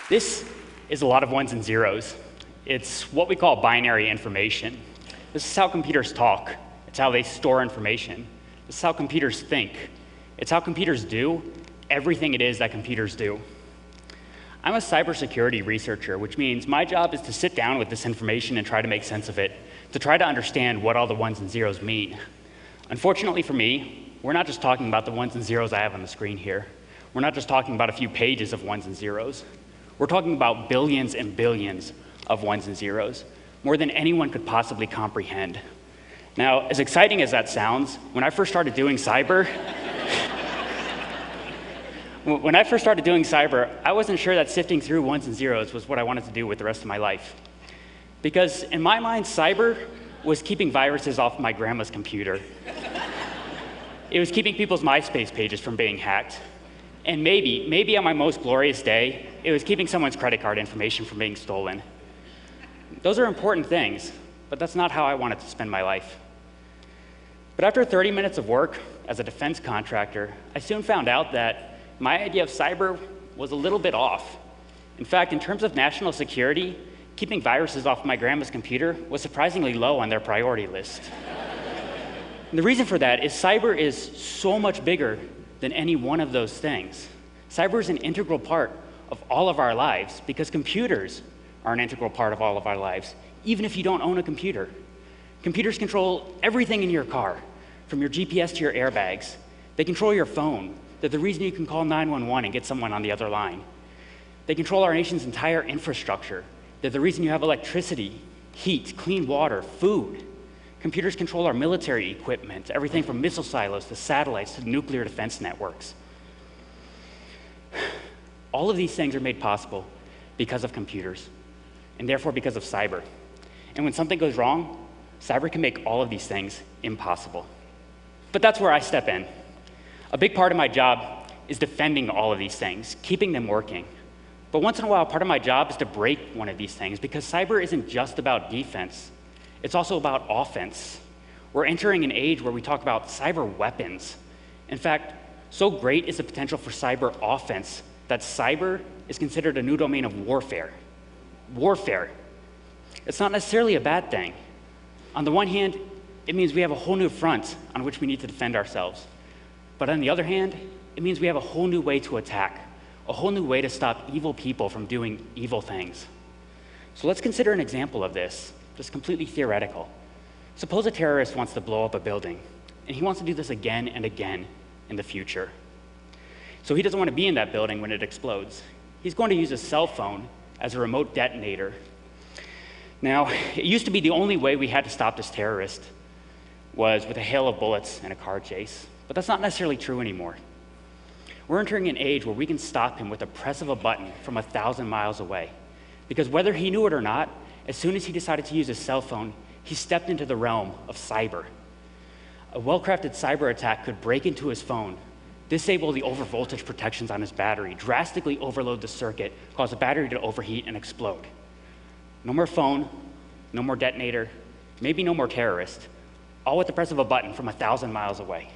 This is a lot of ones and zeros. It's what we call binary information. This is how computers talk. It's how they store information. This is how computers think. It's how computers do everything it is that computers do. I'm a cybersecurity researcher, which means my job is to sit down with this information and try to make sense of it, to try to understand what all the ones and zeros mean. Unfortunately for me, we're not just talking about the ones and zeros I have on the screen here. We're not just talking about a few pages of ones and zeros. We're talking about billions and billions of ones and zeros, more than anyone could possibly comprehend. Now, as exciting as that sounds, when I first started doing cyber, I wasn't sure that sifting through ones and zeros was what I wanted to do with the rest of my life. Because in my mind, cyber was keeping viruses off my grandma's computer. It was keeping people's MySpace pages from being hacked. And maybe on my most glorious day, it was keeping someone's credit card information from being stolen. Those are important things, but that's not how I wanted to spend my life. But after 30 minutes of work as a defense contractor, I soon found out that my idea of cyber was a little bit off. In fact, in terms of national security, keeping viruses off my grandma's computer was surprisingly low on their priority list. And the reason for that is cyber is so much bigger than any one of those things. Cyber is an integral part of all of our lives because computers are an integral part of all of our lives, even if you don't own a computer. Computers control everything in your car, from your GPS to your airbags. They control your phone. They're the reason you can call 911 and get someone on the other line. They control our nation's entire infrastructure. They're the reason you have electricity, heat, clean water, food. Computers control our military equipment, everything from missile silos to satellites to nuclear defense networks. All of these things are made possible because of computers, and therefore because of cyber. And when something goes wrong, cyber can make all of these things impossible. But that's where I step in. A big part of my job is defending all of these things, keeping them working. But once in a while, part of my job is to break one of these things because cyber isn't just about defense. It's also about offense. We're entering an age where we talk about cyber weapons. In fact, so great is the potential for cyber offense that cyber is considered a new domain of warfare. Warfare. It's not necessarily a bad thing. On the one hand, it means we have a whole new front on which we need to defend ourselves. But on the other hand, it means we have a whole new way to attack, a whole new way to stop evil people from doing evil things. So let's consider an example of this, just completely theoretical. Suppose a terrorist wants to blow up a building, and he wants to do this again and again in the future. So he doesn't want to be in that building when it explodes. He's going to use his cell phone as a remote detonator. Now, it used to be the only way we had to stop this terrorist was with a hail of bullets and a car chase. But that's not necessarily true anymore. We're entering an age where we can stop him with a press of a button from 1,000 miles away. Because whether he knew it or not, as soon as he decided to use his cell phone, he stepped into the realm of cyber. A well-crafted cyber attack could break into his phone, disable the overvoltage protections on his battery, drastically overload the circuit, cause the battery to overheat and explode. No more phone, no more detonator, maybe no more terrorist, all with the press of a button from 1,000 miles away.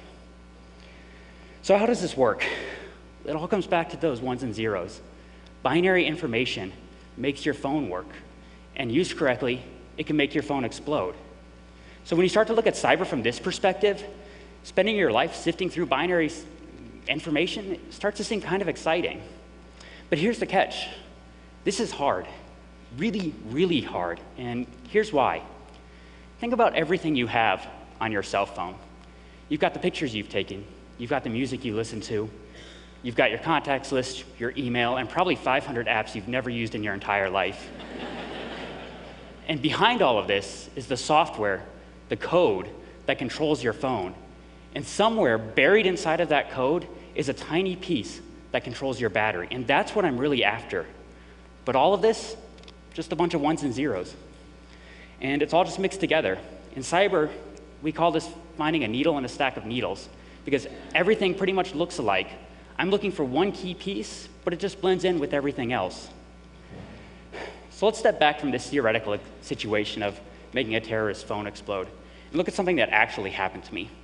So how does this work? It all comes back to those ones and zeros. Binary information makes your phone work, and used correctly, it can make your phone explode. So when you start to look at cyber from this perspective, spending your life sifting through binary information starts to seem kind of exciting. But here's the catch. This is hard, really, really hard, and here's why. Think about everything you have on your cell phone. You've got the pictures you've taken, you've got the music you listen to, you've got your contacts list, your email, and probably 500 apps you've never used in your entire life. And behind all of this is the software, the code that controls your phone. And somewhere buried inside of that code is a tiny piece that controls your battery. And that's what I'm really after. But all of this, just a bunch of ones and zeros. And it's all just mixed together. In cyber, we call this finding a needle in a stack of needles, because everything pretty much looks alike. I'm looking for one key piece, but it just blends in with everything else. So let's step back from this theoretical situation of making a terrorist phone explode and look at something that actually happened to me.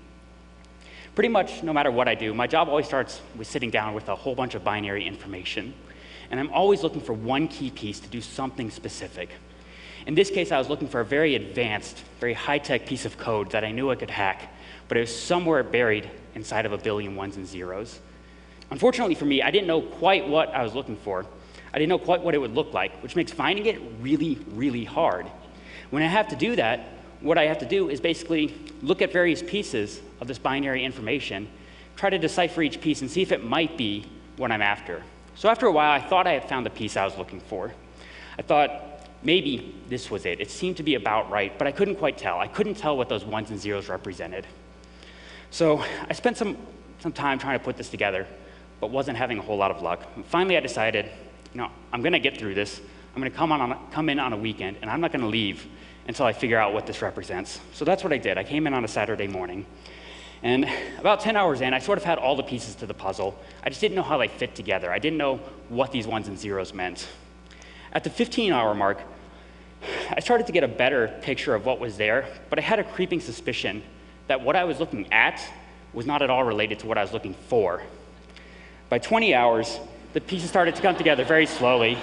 Pretty much no matter what I do, my job always starts with sitting down with a whole bunch of binary information. and I'm always looking for one key piece to do something specific. In this case, I was looking for a very advanced, very high-tech piece of code that I knew I could hack, but it was somewhere buried inside of a billion ones and zeros. Unfortunately for me, I didn't know quite what I was looking for. I didn't know quite what it would look like, which makes finding it really, really hard. When I have to do that, what I have to do is basically look at various pieces of this binary information, try to decipher each piece and see if it might be what I'm after. So after a while, I thought I had found the piece I was looking for. I thought maybe this was it. It seemed to be about right, but I couldn't quite tell. I couldn't tell what those ones and zeros represented. So I spent some time trying to put this together, but wasn't having a whole lot of luck. And finally, I decided, I'm going to get through this. I'm going to come in on a weekend, and I'm not going to leave until I figure out what this represents. So that's what I did. I came in on a Saturday morning, and about 10 hours in, I sort of had all the pieces to the puzzle. I just didn't know how they fit together. I didn't know what these ones and zeros meant. At the 15-hour mark, I started to get a better picture of what was there, but I had a creeping suspicion that what I was looking at was not at all related to what I was looking for. By 20 hours, the pieces started to come together very slowly.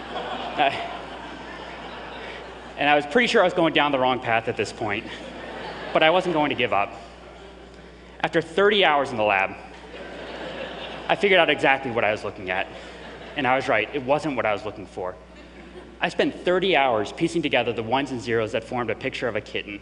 And I was pretty sure I was going down the wrong path at this point, but I wasn't going to give up. After 30 hours in the lab, I figured out exactly what I was looking at. And I was right, it wasn't what I was looking for. I spent 30 hours piecing together the ones and zeros that formed a picture of a kitten.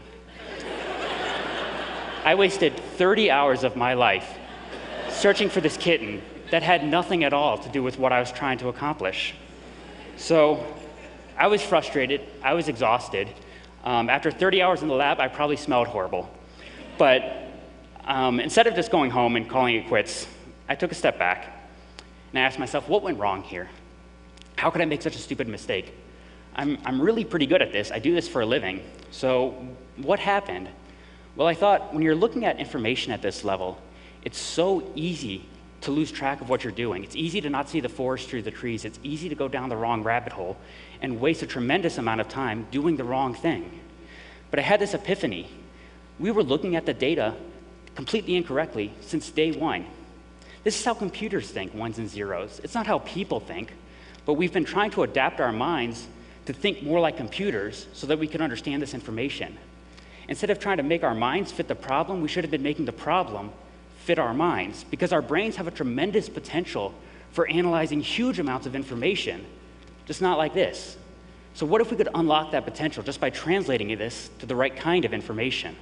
I wasted 30 hours of my life searching for this kitten that had nothing at all to do with what I was trying to accomplish. So I was frustrated, I was exhausted. After 30 hours in the lab, I probably smelled horrible. But instead of just going home and calling it quits, I took a step back and I asked myself, what went wrong here? How could I make such a stupid mistake? I'm really pretty good at this. I do this for a living. So what happened? Well, I thought when you're looking at information at this level, it's so easy to lose track of what you're doing. It's easy to not see the forest through the trees. It's easy to go down the wrong rabbit hole and waste a tremendous amount of time doing the wrong thing. But I had this epiphany. We were looking at the data completely incorrectly since day one. This is how computers think, ones and zeros. It's not how people think, but we've been trying to adapt our minds to think more like computers so that we can understand this information. Instead of trying to make our minds fit the problem, we should have been making the problem fit our minds, because our brains have a tremendous potential for analyzing huge amounts of information, just not like this. So what if we could unlock that potential just by translating this to the right kind of information?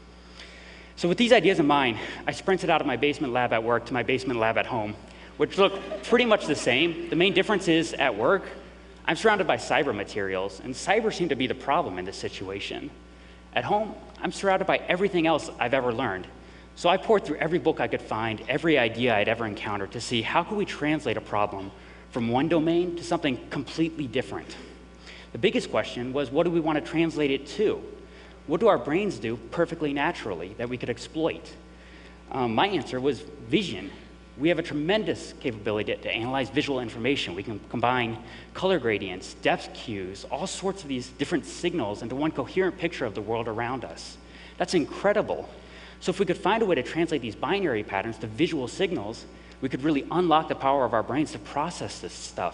So with these ideas in mind, I sprinted out of my basement lab at work to my basement lab at home, which look pretty much the same. The main difference is at work, I'm surrounded by cyber materials, and cyber seemed to be the problem in this situation. At home, I'm surrounded by everything else I've ever learned. So I poured through every book I could find, every idea I'd ever encountered to see how could we translate a problem from one domain to something completely different. The biggest question was, what do we want to translate it to? What do our brains do perfectly naturally that we could exploit? My answer was vision. We have a tremendous capability to analyze visual information. We can combine color gradients, depth cues, all sorts of these different signals into one coherent picture of the world around us. That's incredible. So if we could find a way to translate these binary patterns to visual signals, we could really unlock the power of our brains to process this stuff.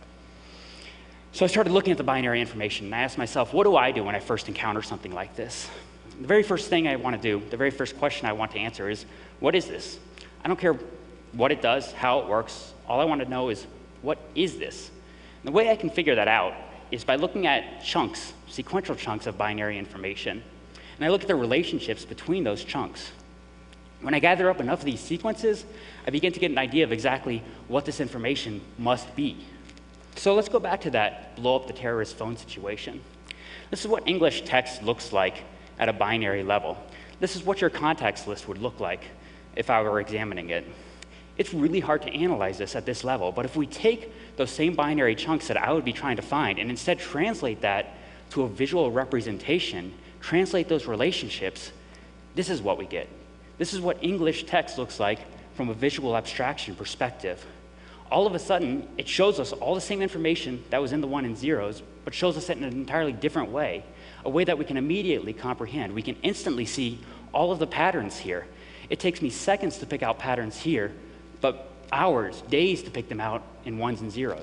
So I started looking at the binary information, and I asked myself, what do I do when I first encounter something like this? The very first thing I want to do, the very first question I want to answer is, what is this? I don't care what it does, how it works. All I want to know is, what is this? And the way I can figure that out is by looking at chunks, sequential chunks of binary information. And I look at the relationships between those chunks. When I gather up enough of these sequences, I begin to get an idea of exactly what this information must be. So let's go back to that blow up the terrorist phone situation. This is what English text looks like at a binary level. This is what your contacts list would look like if I were examining it. It's really hard to analyze this at this level, but if we take those same binary chunks that I would be trying to find and instead translate that to a visual representation, translate those relationships, this is what we get. This is what English text looks like from a visual abstraction perspective. All of a sudden, it shows us all the same information that was in the one and zeros, but shows us it in an entirely different way, a way that we can immediately comprehend. We can instantly see all of the patterns here. It takes me seconds to pick out patterns here, but hours, days to pick them out in ones and zeros.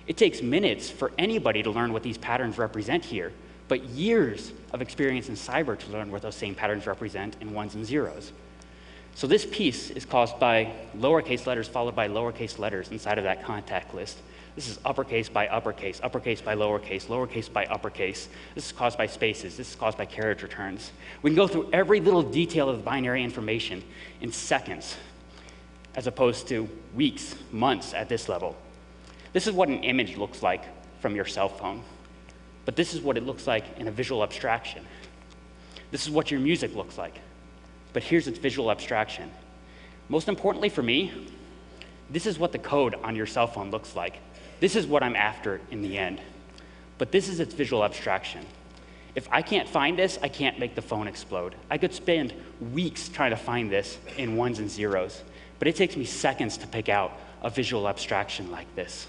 It takes minutes for anybody to learn what these patterns represent here, but years of experience in cyber to learn what those same patterns represent in ones and zeros. So this piece is caused by lowercase letters followed by lowercase letters inside of that contact list. This is uppercase by uppercase, uppercase by lowercase, lowercase by uppercase. This is caused by spaces. This is caused by carriage returns. We can go through every little detail of the binary information in seconds, as opposed to weeks, months at this level. This is what an image looks like from your cell phone, but this is what it looks like in a visual abstraction. This is what your music looks like, but here's its visual abstraction. Most importantly for me, this is what the code on your cell phone looks like. This is what I'm after in the end, but this is its visual abstraction. If I can't find this, I can't make the phone explode. I could spend weeks trying to find this in ones and zeros, but it takes me seconds to pick out a visual abstraction like this.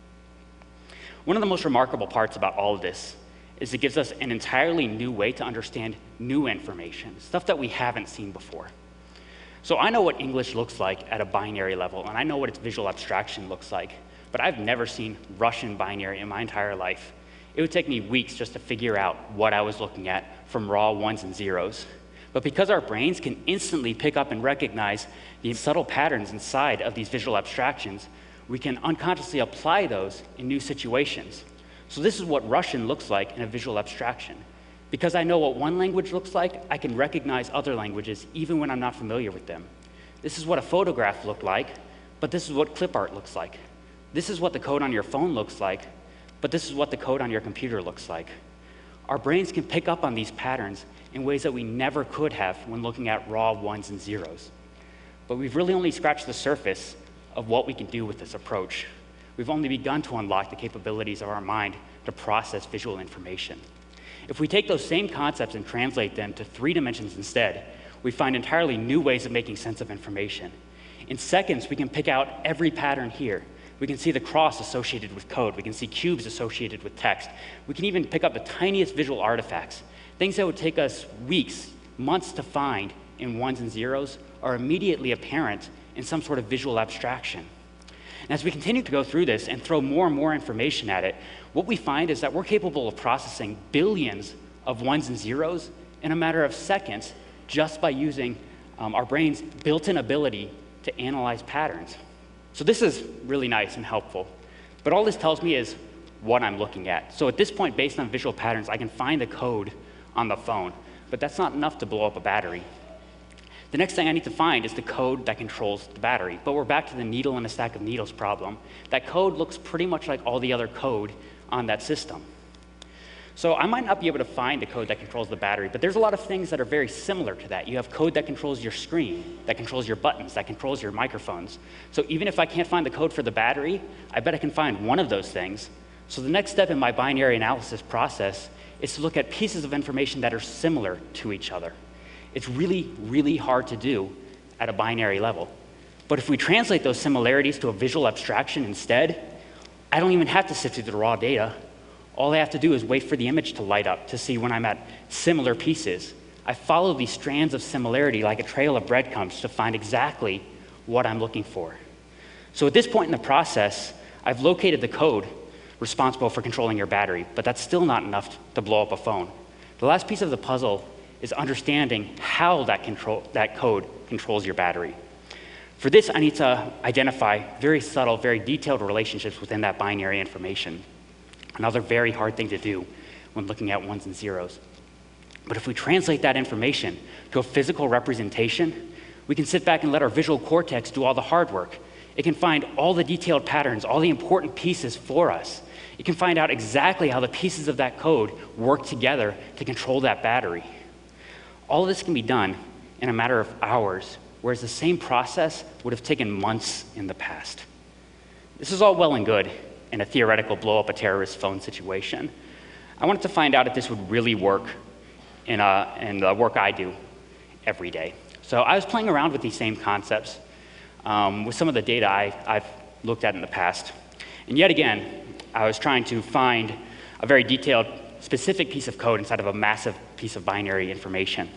One of the most remarkable parts about all of this is it gives us an entirely new way to understand new information, stuff that we haven't seen before. So I know what English looks like at a binary level, and I know what its visual abstraction looks like, but I've never seen Russian binary in my entire life. It would take me weeks just to figure out what I was looking at from raw ones and zeros. But because our brains can instantly pick up and recognize the subtle patterns inside of these visual abstractions, we can unconsciously apply those in new situations. So this is what Russian looks like in a visual abstraction. Because I know what one language looks like, I can recognize other languages even when I'm not familiar with them. This is what a photograph looked like, but this is what clip art looks like. This is what the code on your phone looks like, but this is what the code on your computer looks like. Our brains can pick up on these patterns in ways that we never could have when looking at raw ones and zeros. But we've really only scratched the surface of what we can do with this approach. We've only begun to unlock the capabilities of our mind to process visual information. If we take those same concepts and translate them to 3 dimensions instead, we find entirely new ways of making sense of information. In seconds, we can pick out every pattern here. We can see the cross associated with code. We can see cubes associated with text. We can even pick up the tiniest visual artifacts. Things that would take us weeks, months to find in ones and zeros are immediately apparent in some sort of visual abstraction. And as we continue to go through this and throw more and more information at it, what we find is that we're capable of processing billions of ones and zeros in a matter of seconds just by using our brain's built-in ability to analyze patterns. So this is really nice and helpful, but all this tells me is what I'm looking at. So at this point, based on visual patterns, I can find the code on the phone, but that's not enough to blow up a battery. The next thing I need to find is the code that controls the battery, but we're back to the needle in a stack of needles problem. That code looks pretty much like all the other code on that system. So I might not be able to find the code that controls the battery, but there's a lot of things that are very similar to that. You have code that controls your screen, that controls your buttons, that controls your microphones. So even if I can't find the code for the battery, I bet I can find one of those things. So the next step in my binary analysis process is to look at pieces of information that are similar to each other. It's really, really hard to do at a binary level. But if we translate those similarities to a visual abstraction instead, I don't even have to sift through the raw data. All I have to do is wait for the image to light up to see when I'm at similar pieces. I follow these strands of similarity like a trail of breadcrumbs to find exactly what I'm looking for. So at this point in the process, I've located the code responsible for controlling your battery, but that's still not enough to blow up a phone. The last piece of the puzzle is understanding how that code controls your battery. For this, I need to identify very subtle, very detailed relationships within that binary information. Another very hard thing to do when looking at ones and zeros. But if we translate that information to a physical representation, we can sit back and let our visual cortex do all the hard work. It can find all the detailed patterns, all the important pieces for us. It can find out exactly how the pieces of that code work together to control that battery. All of this can be done in a matter of hours, whereas the same process would have taken months in the past. This is all well and good in a theoretical blow up a terrorist phone situation. I wanted to find out if this would really work in the work I do every day. So I was playing around with these same concepts with some of the data I've looked at in the past. And yet again, I was trying to find a very detailed, specific piece of code inside of a massive piece of binary information.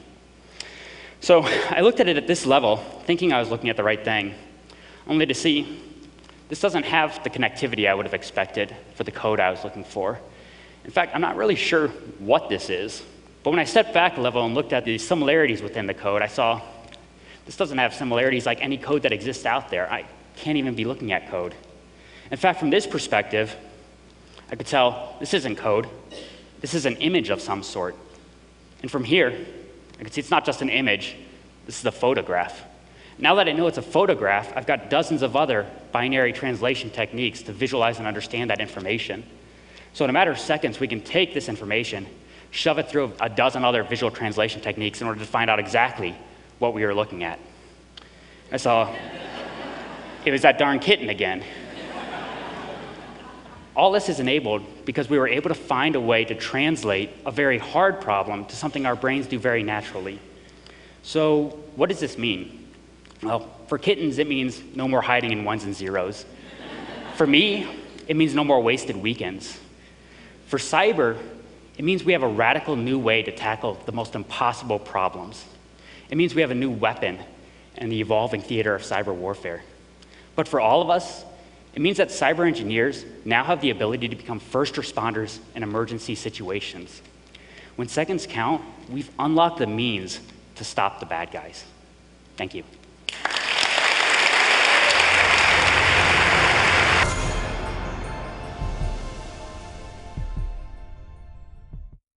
So I looked at it at this level, thinking I was looking at the right thing, only to see This doesn't have the connectivity I would have expected for the code I was looking for. In fact, I'm not really sure what this is, but when I stepped back a level and looked at the similarities within the code, I saw this doesn't have similarities like any code that exists out there. I can't even be looking at code. In fact, from this perspective, I could tell this isn't code. This is an image of some sort. And from here, I could see it's not just an image. This is a photograph. Now that I know it's a photograph, I've got dozens of other binary translation techniques to visualize and understand that information. So in a matter of seconds, we can take this information, shove it through a dozen other visual translation techniques in order to find out exactly what we were looking at. I saw it was that darn kitten again. All this is enabled because we were able to find a way to translate a very hard problem to something our brains do very naturally. So what does this mean? Well, for kittens, it means no more hiding in ones and zeros. For me, it means no more wasted weekends. For cyber, it means we have a radical new way to tackle the most impossible problems. It means we have a new weapon in the evolving theater of cyber warfare. But for all of us, it means that cyber engineers now have the ability to become first responders in emergency situations. When seconds count, we've unlocked the means to stop the bad guys. Thank you.